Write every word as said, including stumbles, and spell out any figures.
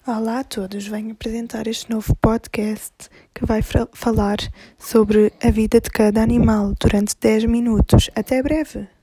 Olá a todos, venho apresentar este novo podcast que vai falar sobre a vida de cada animal durante dez minutos. Até breve!